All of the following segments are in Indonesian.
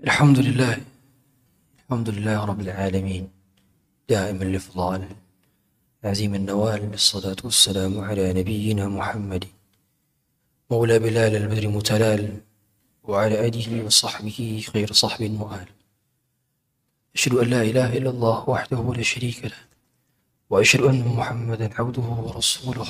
الحمد لله الحمد لله رب العالمين دائم الإفضال عزيم النوال الصلاة والسلام على نبينا محمد مولى بلال البدر متلال وعلى آله وصحبه خير صحب وآل. أشهد أن لا إله إلا الله وحده لا شريك له وأشهد أن محمدا عبده ورسوله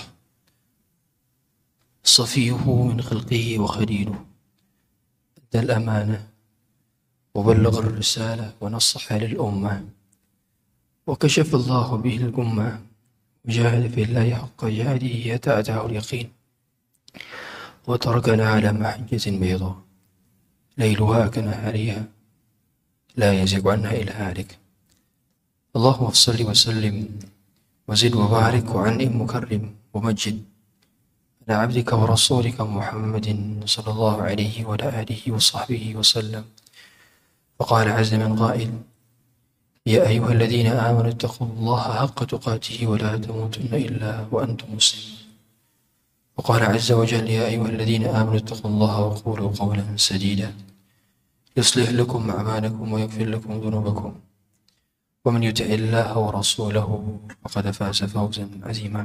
صفيه من خلقه وخليله أدى الأمانة وبلغ الرسالة ونصح للأمة وكشف الله به الأمة وجاهد في الله حق جهاده حتى أتاه اليقين وتركنا على محجة بيضاء ليلها كنهارها لا يزيغ عنها إلا هالك. اللهم صل وسلم وزد وبارك وعنئم مكرم ومجد على عبدك ورسولك محمد صلى الله عليه وعلى آله وصحبه وسلم. فقال عز من قائل: يا أيها الذين آمنوا اتقوا الله حق تقاته ولا تموتن إلا وأنتم مسلمون. وقال عز وجل: يا أيها الذين آمنوا اتقوا الله وقولوا قولا سديدا يصلح لكم أعمالكم ويغفر لكم ذنوبكم ومن يطع الله ورسوله فقد فاز فوزا عظيما.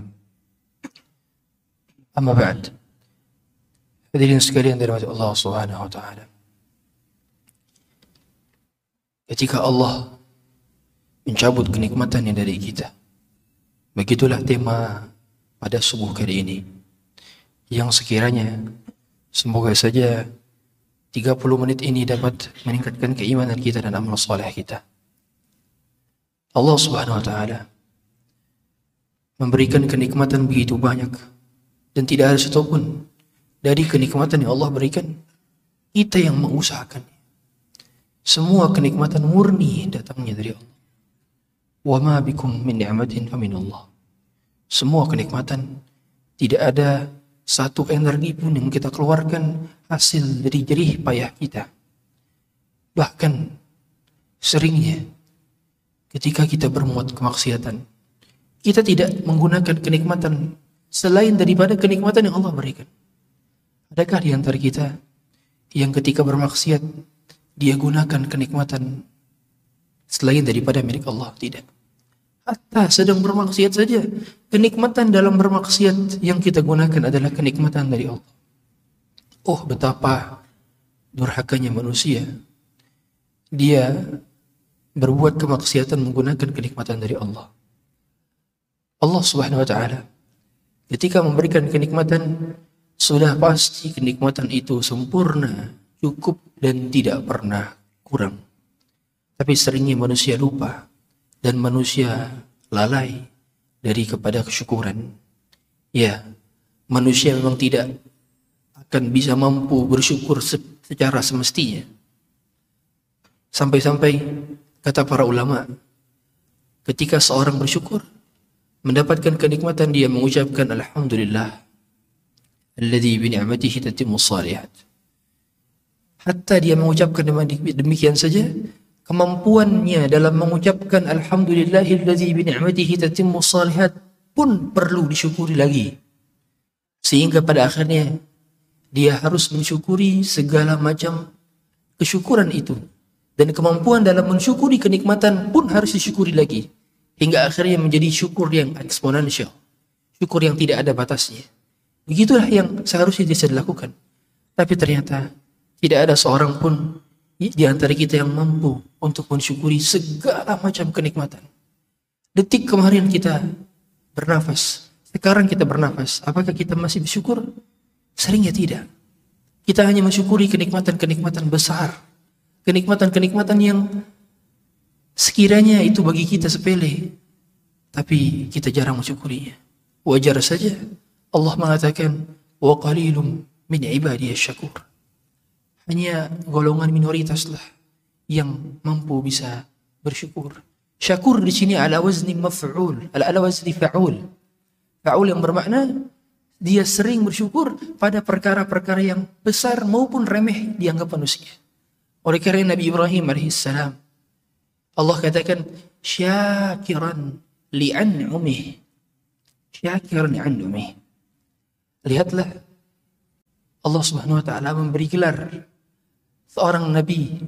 Amma ba'd. Hadirin sekalian dirahmati Allah Subhanahu wa taala. Ketika Allah mencabut kenikmatannya dari kita, begitulah tema pada subuh kali ini, yang sekiranya semoga saja 30 menit ini dapat meningkatkan keimanan kita dan amal saleh kita. Allah Subhanahu wa taala memberikan kenikmatan begitu banyak, dan tidak ada satupun dari kenikmatan yang Allah berikan kita yang mengusahakan. Semua kenikmatan murni datangnya dari Allah. Wa ma bikum min ni'matin fa min Allah. Semua kenikmatan, tidak ada satu energi pun yang kita keluarkan hasil dari jerih payah kita. Bahkan seringnya ketika kita berbuat kemaksiatan, kita tidak menggunakan kenikmatan selain daripada kenikmatan yang Allah berikan. Adakah di antara kita yang ketika bermaksiat dia gunakan kenikmatan selain daripada milik Allah? Tidak. Hatta sedang bermaksiat saja, kenikmatan dalam bermaksiat yang kita gunakan adalah kenikmatan dari Allah. Oh, betapa durhakanya manusia. Dia berbuat kemaksiatan menggunakan kenikmatan dari Allah. Allah Subhanahu wa taala ketika memberikan kenikmatan, sudah pasti kenikmatan itu sempurna, cukup, dan tidak pernah kurang. Tapi seringnya manusia lupa dan manusia lalai dari kepada kesyukuran. Ya, manusia memang tidak akan bisa mampu bersyukur secara semestinya. Sampai-sampai kata para ulama, ketika seorang bersyukur mendapatkan kenikmatan, dia mengucapkan alhamdulillah alladzi bi ni'matihi tatimmu shalihat. Hatta dia mengucapkan demikian saja, kemampuannya dalam mengucapkan alhamdulillahilladzi bi ni'matihi tatimmu shalihat pun perlu disyukuri lagi. Sehingga pada akhirnya dia harus mensyukuri segala macam kesyukuran itu, dan kemampuan dalam mensyukuri kenikmatan pun harus disyukuri lagi. Hingga akhirnya menjadi syukur yang eksponensial, syukur yang tidak ada batasnya. Begitulah yang seharusnya bisa dilakukan. Tapi ternyata tidak ada seorang pun di antara kita yang mampu untuk mensyukuri segala macam kenikmatan. Detik kemarin kita bernafas, sekarang kita bernafas, apakah kita masih bersyukur? Seringnya tidak. Kita hanya mensyukuri kenikmatan-kenikmatan besar, kenikmatan-kenikmatan yang sekiranya itu bagi kita sepele, tapi kita jarang mensyukurinya. Wajar saja Allah mengatakan, wa qalilum min ibadiyasy syakur. Hanya golongan minoritaslah yang mampu bisa bersyukur. Syakur di sini ala wazni maf'ul, ala wazni fa'ul. Fa'ul yang bermakna dia sering bersyukur pada perkara-perkara yang besar maupun remeh dianggap manusia. Oleh karena Nabi Ibrahim alaihissalam, Allah katakan syakiran li'an'umih. Syakiran li'an'umih. Lihatlah, Allah Subhanahu wa taala memberi gelar seorang nabi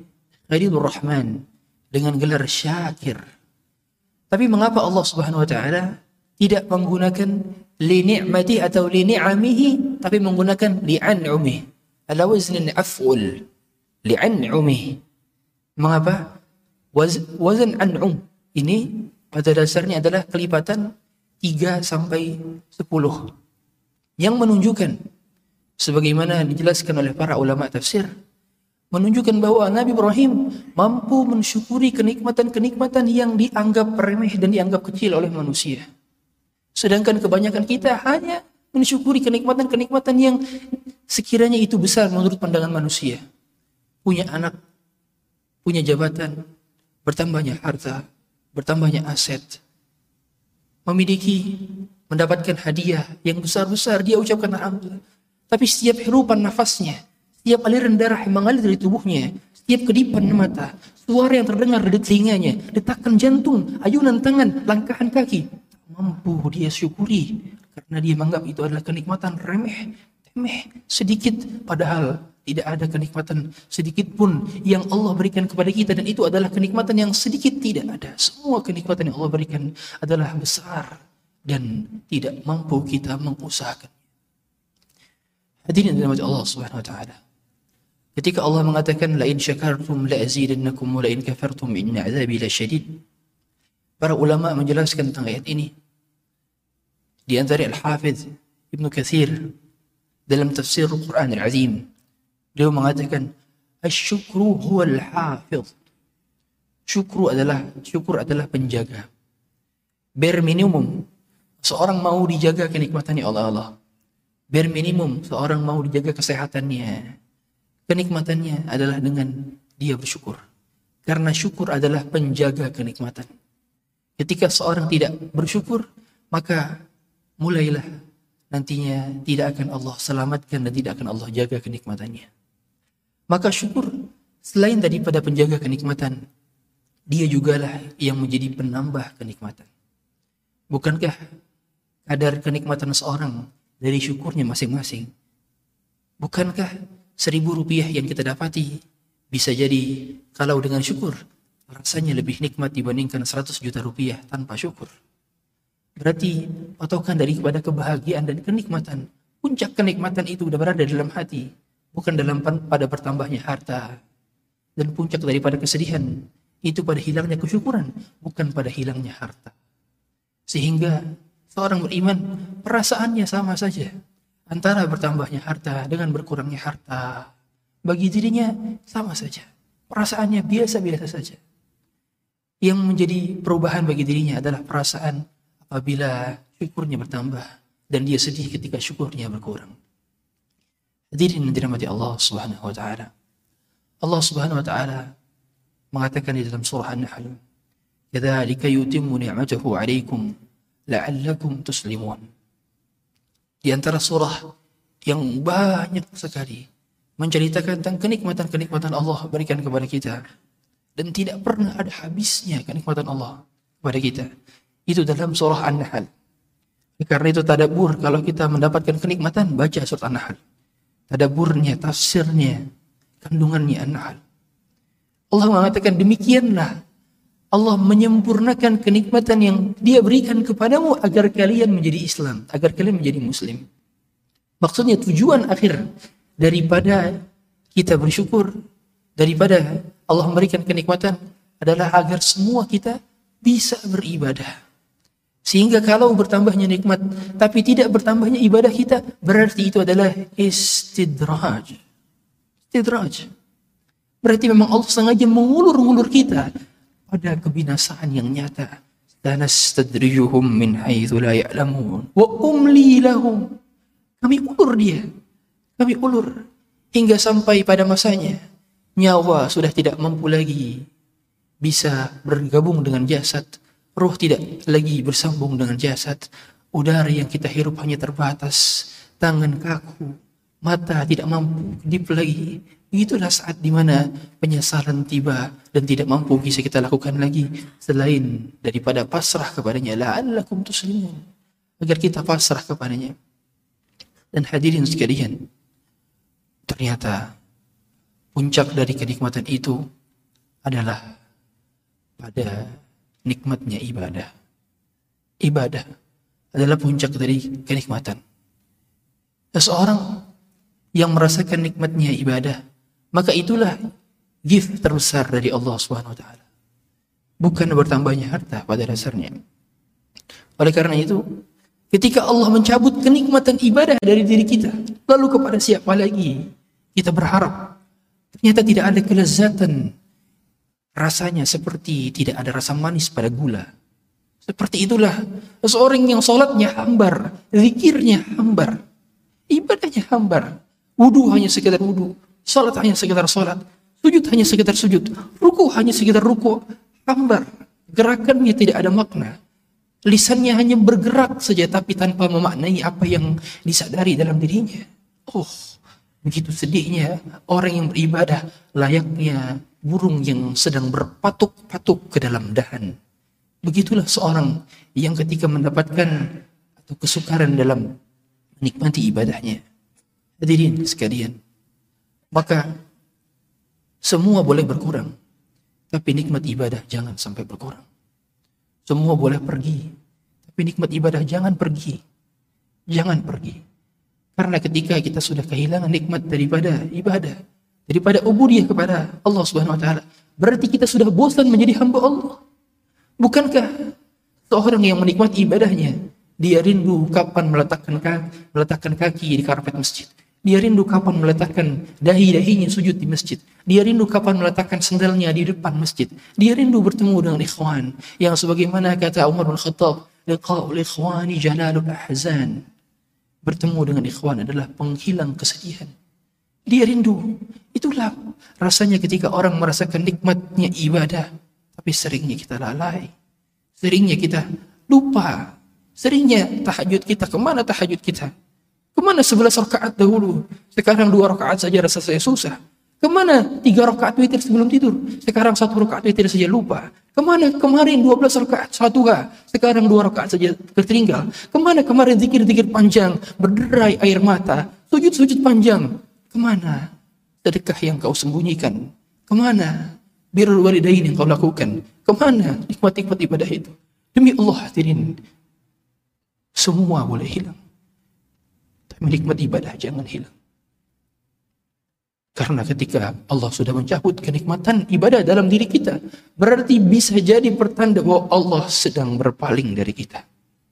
Khalilur Rahman, dengan gelar Syakir. Tapi mengapa Allah Subhanahu wa taala tidak menggunakan li ni'mati atau li ni'amihi, tapi menggunakan li an'umi ala wazn af'ul, li an'umi? Mengapa? Wazan an'um ini pada dasarnya adalah kelipatan 3 sampai 10 yang menunjukkan, sebagaimana dijelaskan oleh para ulama tafsir, menunjukkan bahwa Nabi Ibrahim mampu mensyukuri kenikmatan-kenikmatan yang dianggap remeh dan dianggap kecil oleh manusia. Sedangkan kebanyakan kita hanya mensyukuri kenikmatan-kenikmatan yang sekiranya itu besar menurut pandangan manusia. Punya anak, punya jabatan, bertambahnya harta, bertambahnya aset, memiliki, mendapatkan hadiah yang besar-besar, dia ucapkan alhamdulillah. Tapi setiap hirupan nafasnya, setiap aliran darah yang mengalir dari tubuhnya, setiap kedipan mata, suara yang terdengar dari telinganya, detakan jantung, ayunan tangan, langkahan kaki, tak mampu dia syukuri karena dia menganggap itu adalah kenikmatan remeh, temeh, sedikit, padahal tidak ada kenikmatan sedikit pun yang Allah berikan kepada kita, dan itu adalah kenikmatan yang sedikit tidak ada. Semua kenikmatan yang Allah berikan adalah besar dan tidak mampu kita mengusahakan. Hadirin dirahmati Allah Subhanahu wa taala. Ketika Allah mengatakan la in syakartum la azidannakum wa la in kafartum inna 'adzabi lasyadid. Para ulama menjelaskan tentang ayat ini. Di antara Al-Hafidz Ibnu Katsir dalam tafsir Al-Qur'an Al-Azim, beliau mengatakan asy-syukru huwal hafidz. Syukur adalah penjaga. Bare minimum seorang mau dijaga kenikmatannya Allah. Bare minimum seorang mau dijaga kesehatannya, kenikmatannya adalah dengan dia bersyukur. Karena syukur adalah penjaga kenikmatan. Ketika seorang tidak bersyukur, maka mulailah nantinya tidak akan Allah selamatkan dan tidak akan Allah jaga kenikmatannya. Maka syukur selain daripada penjaga kenikmatan, dia jugalah yang menjadi penambah kenikmatan. Bukankah kadar kenikmatan seorang dari syukurnya masing-masing? Bukankah 1.000 rupiah yang kita dapati bisa jadi kalau dengan syukur rasanya lebih nikmat dibandingkan 100 juta rupiah tanpa syukur? Berarti patokan daripada kebahagiaan dan kenikmatan, puncak kenikmatan itu sudah berada dalam hati, bukan pada bertambahnya harta. Dan puncak daripada kesedihan itu pada hilangnya kesyukuran, bukan pada hilangnya harta. Sehingga seorang beriman perasaannya sama saja antara bertambahnya harta dengan berkurangnya harta. Bagi dirinya sama saja, perasaannya biasa-biasa saja. Yang menjadi perubahan bagi dirinya adalah perasaan apabila syukurnya bertambah dan dia sedih ketika syukurnya berkurang. Hadirin yang dirahmati Allah Subhanahu wa taala. Allah Subhanahu wa taala mengatakan di dalam surah An-Nahl, "Kadzalika yutimmu ni'matahu 'alaikum la'allakum tuslimun." Di antara surah yang banyak sekali menceritakan tentang kenikmatan-kenikmatan Allah berikan kepada kita dan tidak pernah ada habisnya kenikmatan Allah kepada kita. Itu dalam surah An-Nahl. Karena itu tadabbur, kalau kita mendapatkan kenikmatan, baca surah An-Nahl. Tadabburnya, tafsirnya, kandungannya An-Nahl. Allah mengatakan demikianlah Allah menyempurnakan kenikmatan yang Dia berikan kepadamu agar kalian menjadi Islam, agar kalian menjadi Muslim. Maksudnya tujuan akhir daripada kita bersyukur, daripada Allah memberikan kenikmatan adalah agar semua kita bisa beribadah. Sehingga kalau bertambahnya nikmat tapi tidak bertambahnya ibadah kita, berarti itu adalah istidraj. Istidraj. Berarti memang Allah sengaja mengulur-ngulur kita pada kebinasaan yang nyata. Lanastadrijuhum min haitsu la ya'lamun wa umli lahum. Kami ulur dia. Kami ulur hingga sampai pada masanya nyawa sudah tidak mampu lagi bisa bergabung dengan jasad. Ruh tidak lagi bersambung dengan jasad. Udara yang kita hirup hanya terbatas. Tangan kaku. Mata tidak mampu kedip lagi. Begitulah saat dimana penyesalan tiba dan tidak mampu bisa kita lakukan lagi selain daripada pasrah kepadanya. La'allakum tuslimun. Agar kita pasrah kepadanya. Dan hadirin sekalian, ternyata puncak dari kenikmatan itu adalah pada nikmatnya ibadah. Ibadah adalah puncak dari kenikmatan. Seseorang yang merasakan nikmatnya ibadah, maka itulah gift terbesar dari Allah Subhanahu wa taala. Bukan bertambahnya harta pada dasarnya. Oleh karena itu, ketika Allah mencabut kenikmatan ibadah dari diri kita, lalu kepada siapa lagi kita berharap? Ternyata tidak ada kelezatan, rasanya seperti tidak ada rasa manis pada gula. Seperti itulah seseorang yang sholatnya hambar, zikirnya hambar, ibadahnya hambar, wudu hanya sekedar wudu, sholat hanya sekedar sholat, sujud hanya sekedar sujud, ruku hanya sekedar ruku, hambar, gerakannya tidak ada makna. Lisannya hanya bergerak saja tapi tanpa memaknai apa yang disadari dalam dirinya. Oh, begitu sedihnya orang yang beribadah, layaknya burung yang sedang berpatuk-patuk ke dalam dahan. Begitulah seorang yang ketika mendapatkan atau kesukaran dalam menikmati ibadahnya. Hadirin sekalian, maka semua boleh berkurang, tapi nikmat ibadah jangan sampai berkurang. Semua boleh pergi, tapi nikmat ibadah jangan pergi. Jangan pergi. Karena ketika kita sudah kehilangan nikmat daripada ibadah, daripada ubudiyah kepada Allah Subhanahu wa taala, berarti kita sudah bosan menjadi hamba Allah. Bukankah seorang yang menikmati ibadahnya, dia rindu kapan meletakkan kaki di karpet masjid. Dia rindu kapan meletakkan dahi-dahinya sujud di masjid. Dia rindu kapan meletakkan sendalnya di depan masjid. Dia rindu bertemu dengan ikhwan. Yang sebagaimana kata Umar bin Khattab, liqa'ul ikhwani jalalul ahzan. Bertemu dengan ikhwan adalah penghilang kesedihan. Dia rindu. Itulah rasanya ketika orang merasakan nikmatnya ibadah. Tapi seringnya kita lalai. Seringnya kita lupa. Seringnya tahajud kita. Kemana tahajud kita? Kemana 11 rakaat dahulu? Sekarang 2 rakaat saja rasa saya susah. Kemana 3 rakaat witir sebelum tidur? Sekarang 1 rakaat witir saja lupa. Kemana kemarin 12 rakaat Shatuha? Sekarang 2 rakaat saja tertinggal. Kemana kemarin zikir-zikir panjang, berderai air mata, sujud-sujud panjang? Kemana sedekah yang kau sembunyikan? Kemana birrul walidain yang kau lakukan? Kemana nikmat-nikmat ibadah itu? Demi Allah hadirin, semua boleh hilang. Nikmat ibadah jangan hilang. Karena ketika Allah sudah mencabut kenikmatan ibadah dalam diri kita, berarti bisa jadi pertanda bahwa Allah sedang berpaling dari kita.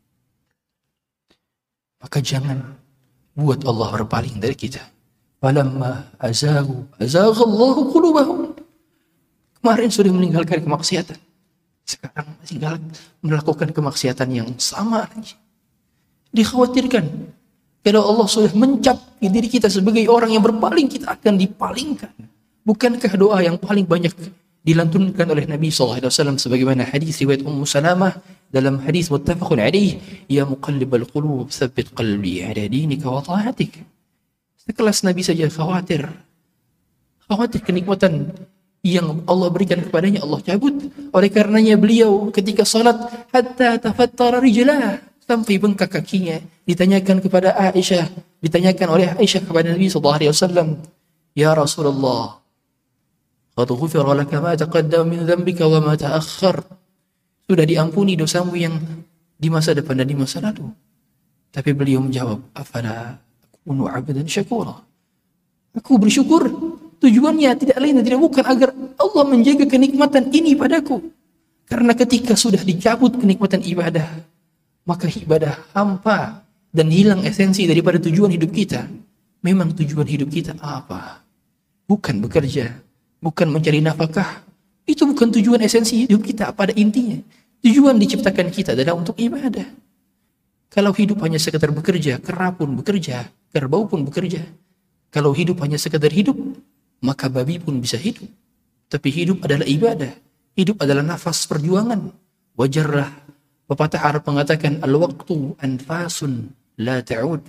Maka jangan buat Allah berpaling dari kita. Falamma azaghallahu qulubahum. Kemarin sudah meninggalkan kemaksiatan, sekarang masih melakukan kemaksiatan yang sama lagi. Dikhawatirkan kalau Allah sudah mencap diri kita sebagai orang yang berpaling, kita akan dipalingkan. Bukankah doa yang paling banyak dilantunkan oleh Nabi SAW sebagaimana hadis riwayat Ummu Salamah dalam hadis muttafaqun alaih, ya muqallibal qulub tsabbit qalbi ala dinika wa ta'atik. Sekelas Nabi saja khawatir kenikmatan yang Allah berikan kepadanya Allah cabut. Oleh karenanya beliau ketika salat hatta tafattara rijlah, sampai bengkak kakinya. Ditanyakan kepada Aisyah, ditanyakan oleh Aisyah kepada Nabi SAW, ya Rasulullah, qad ghufira laka ma taqaddama min dhanbika wa ma ta'akhkhar. Sudah diampuni dosamu yang di masa depan dan di masa lalu. Tapi beliau menjawab, afala akunu 'abdan syakura. Aku bersyukur. Tujuannya tidak lain dan tidak bukan agar Allah menjaga kenikmatan ini padaku. Karena ketika sudah dicabut kenikmatan ibadah, maka ibadah hampa dan hilang esensi daripada tujuan hidup kita. Memang tujuan hidup kita apa? Bukan bekerja, bukan mencari nafkah. Itu bukan tujuan esensi hidup kita pada intinya. Tujuan diciptakan kita adalah untuk ibadah. Kalau hidup hanya sekedar bekerja, kera pun bekerja, kerbau pun bekerja. Kalau hidup hanya sekedar hidup, maka babi pun bisa hidup. Tapi hidup adalah ibadah. Hidup adalah nafas perjuangan. Wajarlah pepatah Arab mengatakan, al-waqtu anfasun la ta'ud.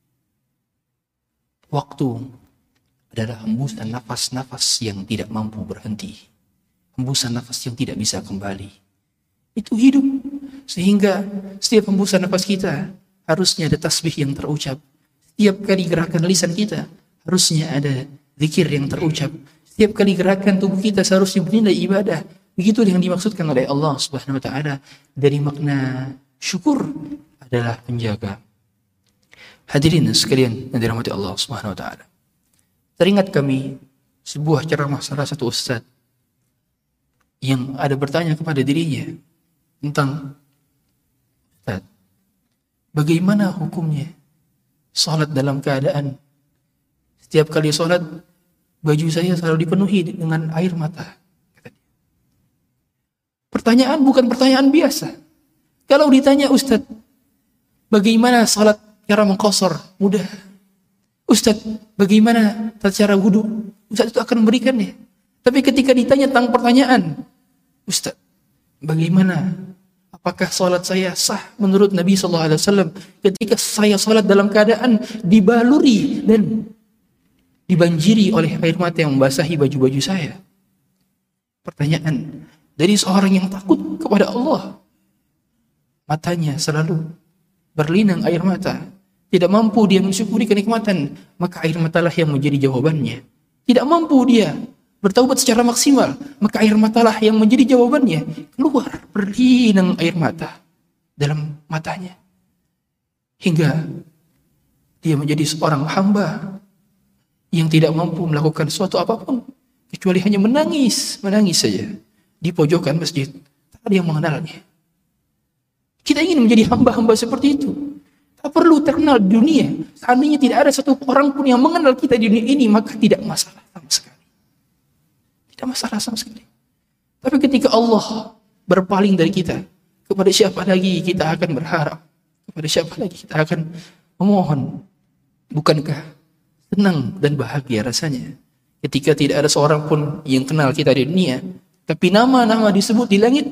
Waktu adalah hembusan nafas-nafas yang tidak mampu berhenti. Hembusan nafas yang tidak bisa kembali. Itu hidup. Sehingga setiap hembusan nafas kita harusnya ada tasbih yang terucap. Setiap kali gerakan lisan kita harusnya ada zikir yang terucap. Setiap kali gerakan tubuh kita seharusnya bernilai ibadah. Begitu yang dimaksudkan oleh Allah Subhanahu wa taala dari makna syukur adalah penjaga. Hadirin sekalian yang dirahmati Allah Subhanahu wa taala. Teringat kami sebuah ceramah salah satu ustaz yang ada bertanya kepada dirinya tentang, Ustaz, bagaimana hukumnya salat dalam keadaan setiap kali salat baju saya selalu dipenuhi dengan air mata. Pertanyaan bukan pertanyaan biasa. Kalau ditanya, Ustaz, bagaimana salat cara mengqashar? Mudah. Ustaz, bagaimana cara wudu? Ustaz itu akan memberikannya. Tapi ketika ditanya tentang pertanyaan, Ustaz, bagaimana? Apakah salat saya sah menurut Nabi SAW ketika saya salat dalam keadaan dibaluri dan dibanjiri oleh air mata yang membasahi baju-baju saya? Pertanyaan dari seorang yang takut kepada Allah. Matanya selalu berlinang air mata. Tidak mampu dia mensyukuri kenikmatan, maka air matalah yang menjadi jawabannya. Tidak mampu dia bertaubat secara maksimal, maka air matalah yang menjadi jawabannya. Keluar berlinang air mata dalam matanya. Hingga dia menjadi seorang hamba yang tidak mampu melakukan sesuatu apapun, kecuali hanya menangis saja di pojokan masjid. Tak ada yang mengenalnya. Kita ingin menjadi hamba-hamba seperti itu. Tak perlu terkenal di dunia. Seandainya tidak ada satu orang pun yang mengenal kita di dunia ini, maka tidak masalah sama sekali. Tidak masalah sama sekali. Tapi ketika Allah berpaling dari kita, kepada siapa lagi kita akan berharap? Kepada siapa lagi kita akan memohon? Bukankah senang dan bahagia rasanya ketika tidak ada seorang pun yang kenal kita di dunia, tapi nama-nama disebut di langit?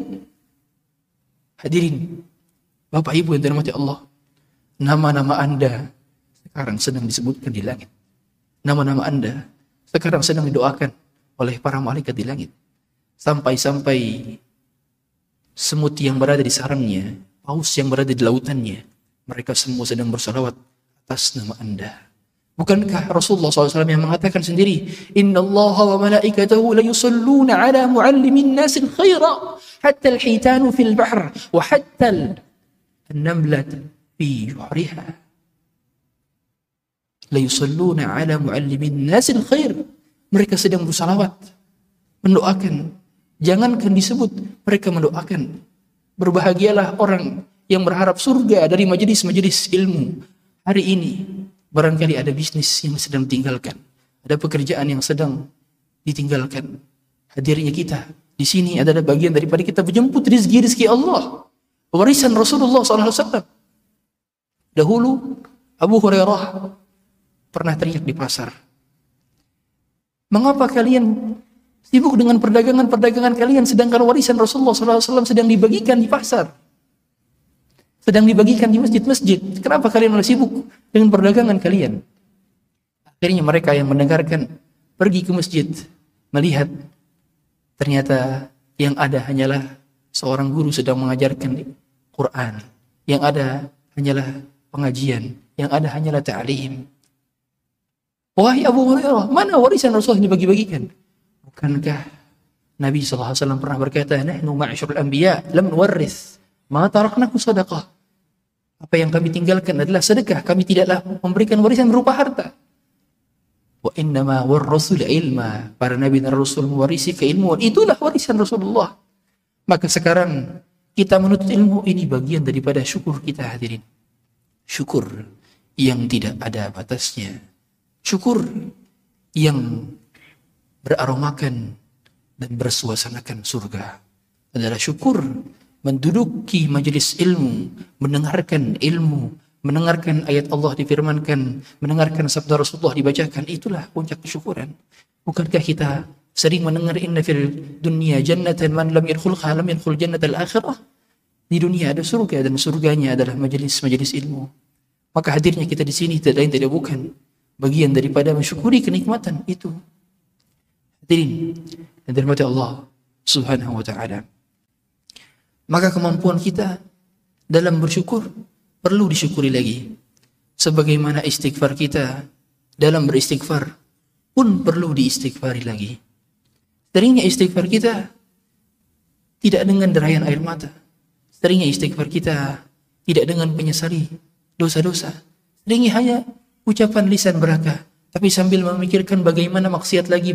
Hadirin, Bapak Ibu yang dirahmati Allah, nama-nama Anda sekarang sedang disebutkan di langit. Nama-nama Anda sekarang sedang didoakan oleh para malaikat di langit. Sampai-sampai semut yang berada di sarangnya, paus yang berada di lautannya, mereka semua sedang bersalawat atas nama Anda. Bukankah Rasulullah SAW yang mengatakan sendiri, Inna Allah wa malaikatahu la yusalluna ala muallimin nasil khaira, hatta al-hitanu fil bahr, wa hatta al-namlat fi juhriha. La yusalluna ala muallimin nasil khair. Mereka sedang bersalawat, mendoakan. Jangankan disebut, mereka mendoakan. Berbahagialah orang yang berharap surga dari majelis-majelis ilmu. Hari ini barangkali ada bisnis yang sedang ditinggalkan, ada pekerjaan yang sedang ditinggalkan. Hadirnya kita di sini adalah bagian daripada kita menjemput rizki Allah, warisan Rasulullah SAW. Dahulu Abu Hurairah pernah teriak di pasar, mengapa kalian sibuk dengan perdagangan kalian sedangkan warisan Rasulullah SAW sedang dibagikan di pasar, sedang dibagikan di masjid-masjid? Kenapa kalian malah sibuk dengan perdagangan kalian? Akhirnya mereka yang mendengarkan pergi ke masjid, melihat ternyata yang ada hanyalah seorang guru sedang mengajarkan Quran, yang ada hanyalah pengajian, yang ada hanyalah ta'lim. Wahai Abu Hurairah, mana warisan Rasulullah yang dibagi-bagikan? Bukankah Nabi SAW pernah berkata, nahnu ma'asyurul anbiya lam nuwarris ma taraknahu sadaqah. Apa yang kami tinggalkan adalah sedekah, kami tidaklah memberikan warisan berupa harta. Wa innama warrasul ilma, para nabi dan rasul mewarisi keilmuan, itulah warisan Rasulullah. Maka sekarang kita menuntut ilmu, ini bagian daripada syukur kita, hadirin. Syukur yang tidak ada batasnya, syukur yang beraromakan dan bersuasanakan surga adalah syukur menduduki majelis ilmu, mendengarkan ilmu, mendengarkan ayat Allah difirmankan, mendengarkan sabda Rasulullah dibacakan. Itulah puncak kesyukuran. Bukankah kita sering mendengar inna fil dunya jannatan man lam yadkhulha lam yadkhul jannatal akhirah? Di dunia ada surga dan surganya adalah majelis-majelis ilmu. Maka hadirnya kita di sini tidak lain tidak bukan bagian daripada mensyukuri kenikmatan itu. Hadirin yang dirahmati Allah Subhanahu wa taala. Maka kemampuan kita dalam bersyukur perlu disyukuri lagi. Sebagaimana istighfar kita dalam beristighfar pun perlu diistighfari lagi. Seringnya istighfar kita tidak dengan derayan air mata. Seringnya istighfar kita tidak dengan menyesali dosa-dosa. Seringnya hanya ucapan lisan belaka, tapi sambil memikirkan bagaimana maksiat lagi.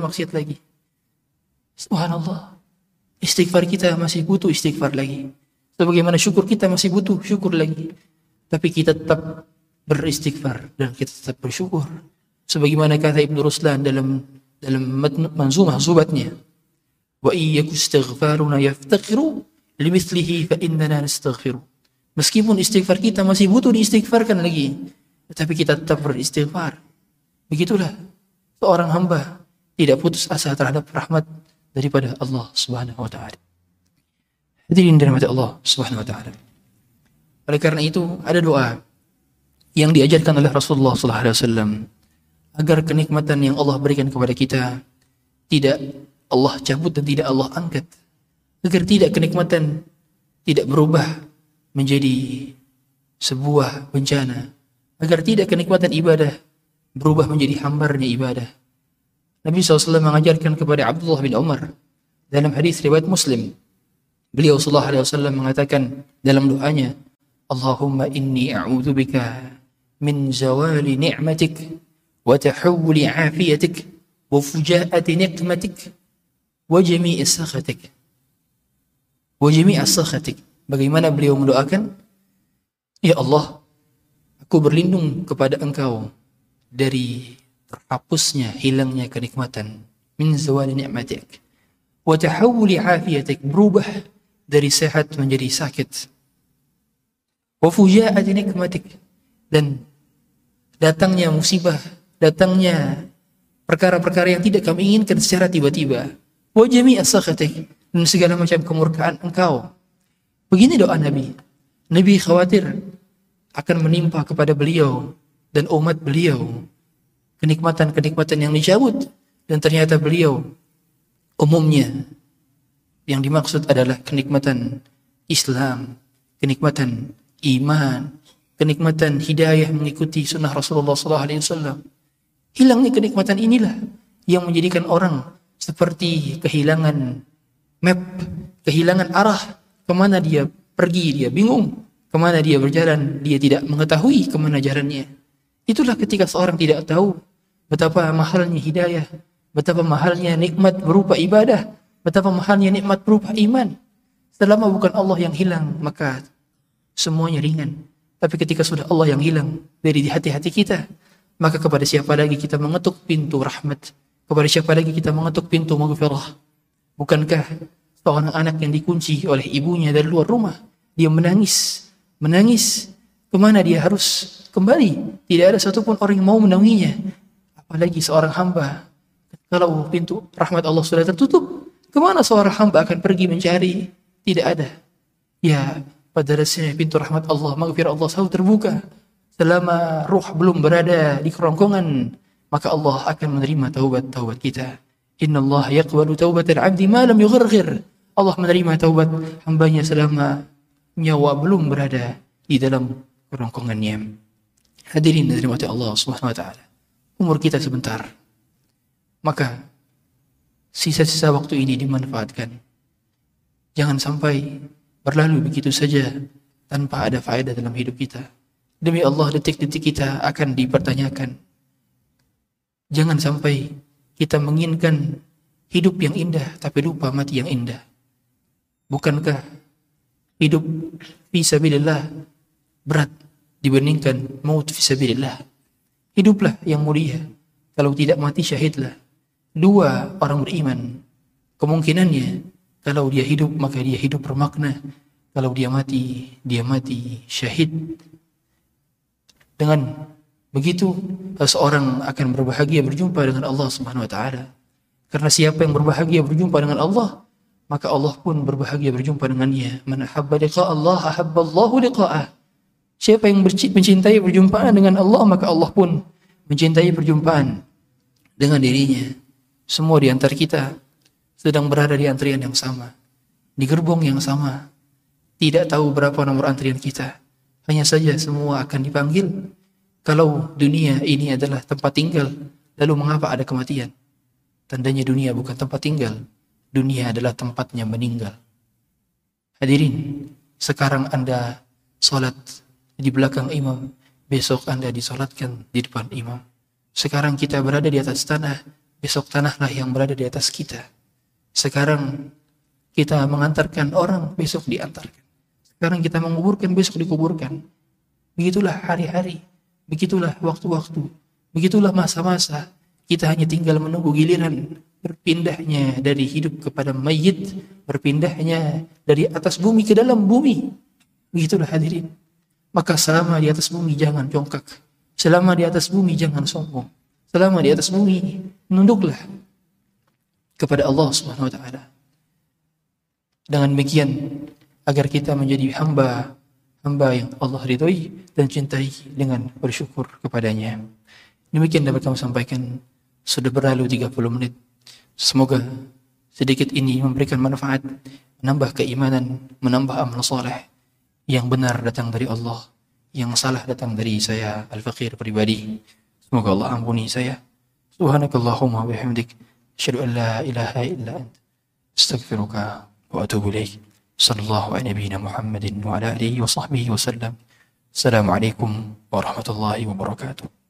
Subhanallah. Istighfar kita masih butuh istighfar lagi. Sebagaimana syukur kita masih butuh syukur lagi. Tapi kita tetap beristighfar dan kita tetap bersyukur. Sebagaimana kata Ibnu Ruslan dalam manzumah zubatnya, wa iyyaku istighfaruna yaftaqiru limithlihi fa innana nastaghfiru. Meskipun istighfar kita masih butuh diistighfarkan lagi, tetapi kita tetap beristighfar. Begitulah seorang hamba tidak putus asa terhadap rahmat daripada Allah Subhanahu wa taala. Hadirin dirahmati Allah Subhanahu wa taala. Oleh karena itu ada doa yang diajarkan oleh Rasulullah sallallahu alaihi wasallam agar kenikmatan yang Allah berikan kepada kita tidak Allah cabut dan tidak Allah angkat, agar tidak kenikmatan tidak berubah menjadi sebuah bencana, agar tidak kenikmatan ibadah berubah menjadi hambarnya ibadah. Nabi SAW mengajarkan kepada Abdullah bin Umar dalam hadis riwayat Muslim. Beliau SAW mengatakan dalam doanya, Allahumma inni a'udzubika min zawali ni'matik wa tahawuli afiyatik wa fujaati niqmatik wa jami'i sakhatik. Bagaimana beliau mendoakan? Ya Allah, aku berlindung kepada Engkau dari terhapusnya, hilangnya kenikmatan, min zawali ni'matik wa tahawuli afiyatik, berubah dari sehat menjadi sakit, wa fujaati nikmatik, dan datangnya musibah, datangnya perkara-perkara yang tidak kami inginkan secara tiba-tiba, wa jami'a sakhatik, dan segala macam kemurkaan Engkau. Begini doa Nabi. Nabi khawatir akan menimpa kepada beliau dan umat beliau kenikmatan-kenikmatan yang dicabut, dan ternyata beliau umumnya yang dimaksud adalah kenikmatan Islam, kenikmatan iman, kenikmatan hidayah mengikuti sunnah Rasulullah SAW. Hilangnya kenikmatan inilah yang menjadikan orang seperti kehilangan map, kehilangan arah, kemana dia pergi dia bingung, kemana dia berjalan dia tidak mengetahui kemana jalannya. Itulah ketika seorang tidak tahu betapa mahalnya hidayah, betapa mahalnya nikmat berupa ibadah, betapa mahalnya nikmat berupa iman. Selama bukan Allah yang hilang, maka semuanya ringan. Tapi ketika sudah Allah yang hilang dari hati-hati kita, maka kepada siapa lagi kita mengetuk pintu rahmat? Kepada siapa lagi kita mengetuk pintu maghfirah? Bukankah seorang anak yang dikunci oleh ibunya dari luar rumah, dia menangis, kemana dia harus kembali? Tidak ada satupun orang yang mau menaunginya. Apalagi seorang hamba, kalau pintu rahmat Allah sudah tertutup, kemana seorang hamba akan pergi mencari? Tidak ada. Ya, pada dasarnya pintu rahmat Allah, maghfirah Allah selalu terbuka. Selama ruh belum berada di kerongkongan, maka Allah akan menerima taubat kita. Innallaha yaqbalu taubatal 'abdi ma lam yugharghir. Allah menerima taubat hambanya selama nyawa belum berada di dalam kerongkongannya. Hadirin dari rahmat Allah Subhanahu wa taala. Umur kita sebentar. Maka sisa-sisa waktu ini dimanfaatkan. Jangan sampai berlalu begitu saja tanpa ada faedah dalam hidup kita. Demi Allah, detik-detik kita akan dipertanyakan. Jangan sampai kita menginginkan hidup yang indah tapi lupa mati yang indah. Bukankah hidup fisabilillah berat dibandingkan maut fisabilillah? Hiduplah yang mulia. Kalau tidak mati syahidlah. Dua orang beriman, kemungkinannya kalau dia hidup maka dia hidup bermakna. Kalau dia mati syahid. Dengan begitu seorang akan berbahagia berjumpa dengan Allah Subhanahu wa taala. Karena siapa yang berbahagia berjumpa dengan Allah, maka Allah pun berbahagia berjumpa dengannya. Man ahabba liqa Allah ahabba Allahu liqa'ah. Siapa yang mencintai perjumpaan dengan Allah, maka Allah pun mencintai perjumpaan dengan dirinya. Semua di antara kita sedang berada di antrian yang sama, di gerbong yang sama. Tidak tahu berapa nomor antrian kita. Hanya saja semua akan dipanggil. Kalau dunia ini adalah tempat tinggal, lalu mengapa ada kematian? tandanya dunia bukan tempat tinggal. Dunia adalah tempatnya meninggal. Hadirin, sekarang Anda sholat di belakang imam, besok Anda disolatkan di depan imam. Sekarang kita berada di atas tanah, besok tanahlah yang berada di atas kita. Sekarang kita mengantarkan orang, besok diantarkan. Sekarang kita menguburkan, besok dikuburkan. Begitulah hari-hari, begitulah waktu-waktu, begitulah masa-masa. Kita hanya tinggal menunggu giliran berpindahnya dari hidup kepada mayit, berpindahnya dari atas bumi ke dalam bumi. Begitulah hadirin. Maka selama di atas bumi jangan jongkak. Selama di atas bumi jangan sombong. Selama di atas bumi menunduklah kepada Allah Subhanahu wa taala. Dengan demikian agar kita menjadi hamba yang Allah ridhoi dan cintai dengan bersyukur kepadanya. Demikian dapat kami sampaikan. Sudah berlalu 30 menit. Semoga sedikit ini memberikan manfaat, menambah keimanan, menambah amal soleh. Yang benar datang dari Allah, yang salah datang dari saya Al-Faqir pribadi. Semoga Allah ampuni saya. Subhanakallahumma wa bihamdik, asyhadu an la ilaha illa anta, astaghfiruka wa atubu ilaik. Sallallahu ala nabiyyina Muhammadin wa ala alihi wa sahbihi wa sallam. Assalamualaikum warahmatullahi wabarakatuh.